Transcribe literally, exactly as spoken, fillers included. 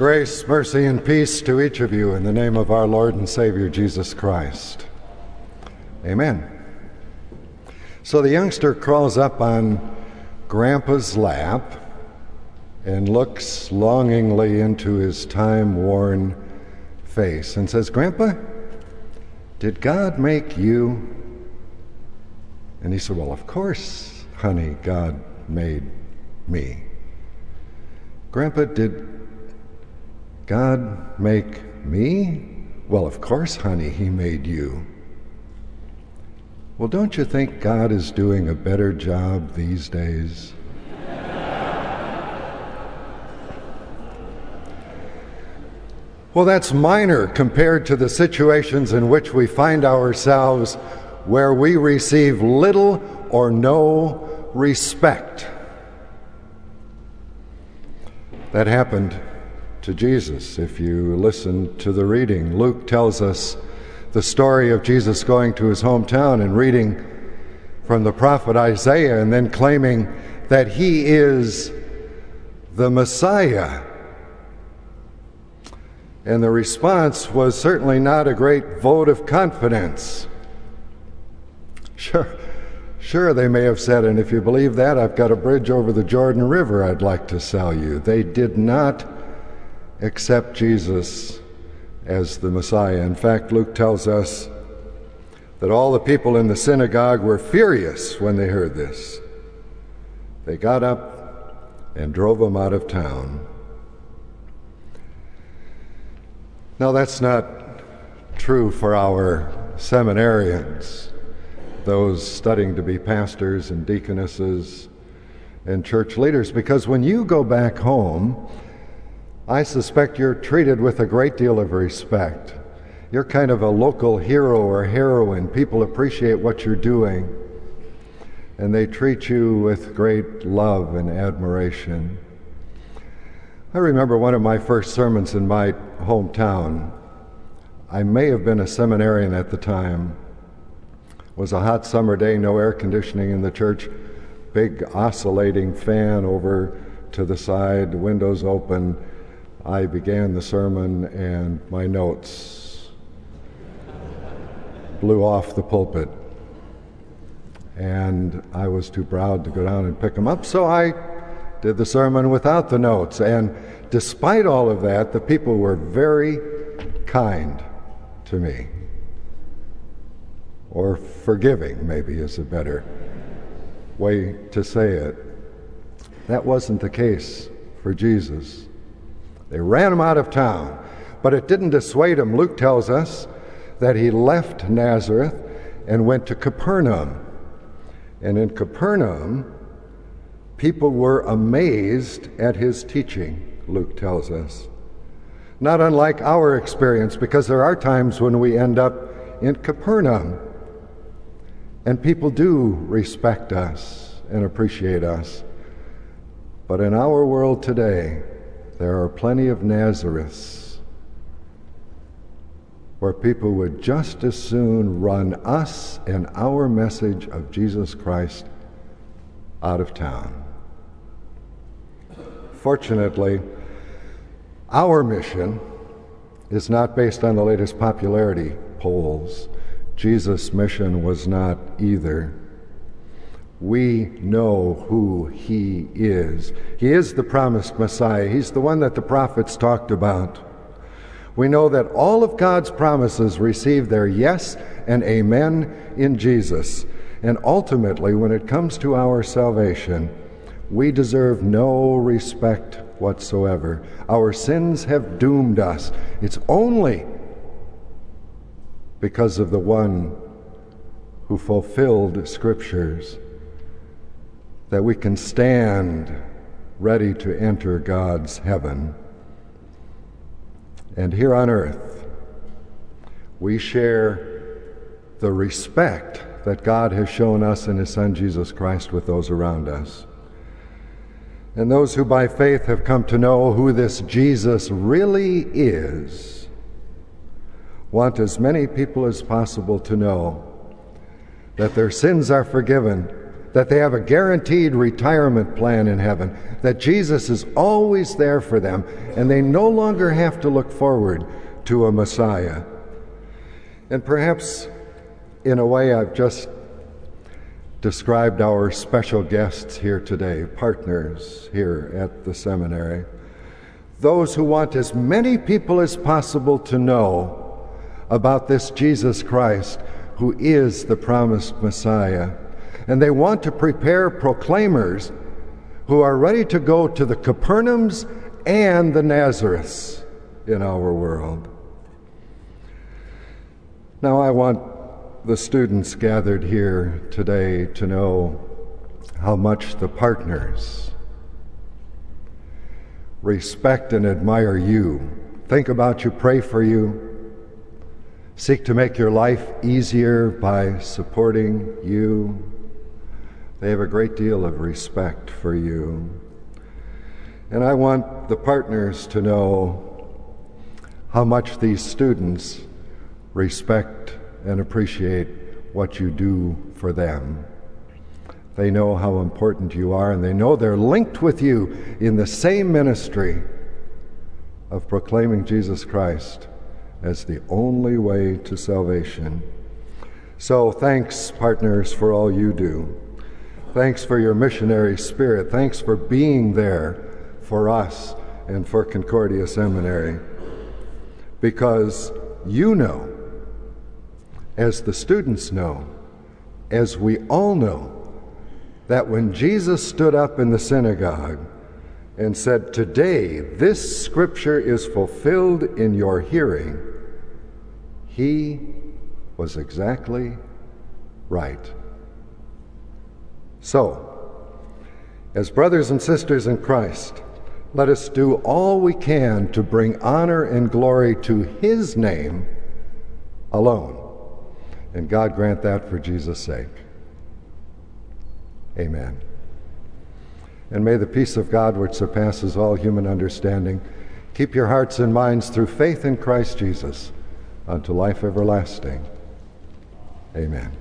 Grace, mercy, and peace to each of you in the name of our Lord and Savior Jesus Christ. Amen. So the youngster crawls up on Grandpa's lap and looks longingly into his time-worn face and says, "Grandpa, did God make you?" And he said, "Well, of course, honey, God made me." "Grandpa, did God make me?" "Well, of course, honey, he made you." "Well, don't you think God is doing a better job these days?" Well, that's minor compared to the situations in which we find ourselves where we receive little or no respect. That happened to Jesus. If you listen to the reading, Luke tells us the story of Jesus going to his hometown and reading from the prophet Isaiah and then claiming that he is the Messiah. And the response was certainly not a great vote of confidence. Sure, sure, they may have said, "And if you believe that, I've got a bridge over the Jordan River I'd like to sell you." They did not accept Jesus as the Messiah. In fact, Luke tells us that all the people in the synagogue were furious when they heard this. They got up and drove him out of town. Now, that's not true for our seminarians, those studying to be pastors and deaconesses and church leaders, because when you go back home, I suspect you're treated with a great deal of respect. You're kind of a local hero or heroine. People appreciate what you're doing, and they treat you with great love and admiration. I remember one of my first sermons in my hometown. I may have been a seminarian at the time. It was a hot summer day, no air conditioning in the church, big oscillating fan over to the side, windows open. I began the sermon and my notes blew off the pulpit. And I was too proud to go down and pick them up, so I did the sermon without the notes. And despite all of that, the people were very kind to me. Or forgiving, maybe, is a better way to say it. That wasn't the case for Jesus. They ran him out of town, but it didn't dissuade him. Luke tells us that he left Nazareth and went to Capernaum. And in Capernaum, people were amazed at his teaching, Luke tells us. Not unlike our experience, because there are times when we end up in Capernaum, and people do respect us and appreciate us. But in our world today, there are plenty of Nazareths where people would just as soon run us and our message of Jesus Christ out of town. Fortunately, our mission is not based on the latest popularity polls. Jesus' mission was not either. We know who he is. He is the promised Messiah. He's the one that the prophets talked about. We know that all of God's promises receive their yes and amen in Jesus. And ultimately, when it comes to our salvation, we deserve no respect whatsoever. Our sins have doomed us. It's only because of the one who fulfilled Scriptures that we can stand ready to enter God's heaven. And here on earth, we share the respect that God has shown us in his Son Jesus Christ with those around us. And those who by faith have come to know who this Jesus really is want as many people as possible to know that their sins are forgiven, that they have a guaranteed retirement plan in heaven, that Jesus is always there for them, and they no longer have to look forward to a Messiah. And perhaps, in a way, I've just described our special guests here today, partners here at the seminary, those who want as many people as possible to know about this Jesus Christ, who is the promised Messiah. And they want to prepare proclaimers who are ready to go to the Capernaums and the Nazareths in our world. Now, I want the students gathered here today to know how much the partners respect and admire you, think about you, pray for you, seek to make your life easier by supporting you. They have a great deal of respect for you. And I want the partners to know how much these students respect and appreciate what you do for them. They know how important you are, and they know they're linked with you in the same ministry of proclaiming Jesus Christ as the only way to salvation. So thanks, partners, for all you do. Thanks for your missionary spirit. Thanks for being there for us and for Concordia Seminary. Because you know, as the students know, as we all know, that when Jesus stood up in the synagogue and said, "Today this scripture is fulfilled in your hearing," he was exactly right. So, as brothers and sisters in Christ, let us do all we can to bring honor and glory to his name alone. And God grant that for Jesus' sake. Amen. And may the peace of God, which surpasses all human understanding, keep your hearts and minds through faith in Christ Jesus unto life everlasting. Amen.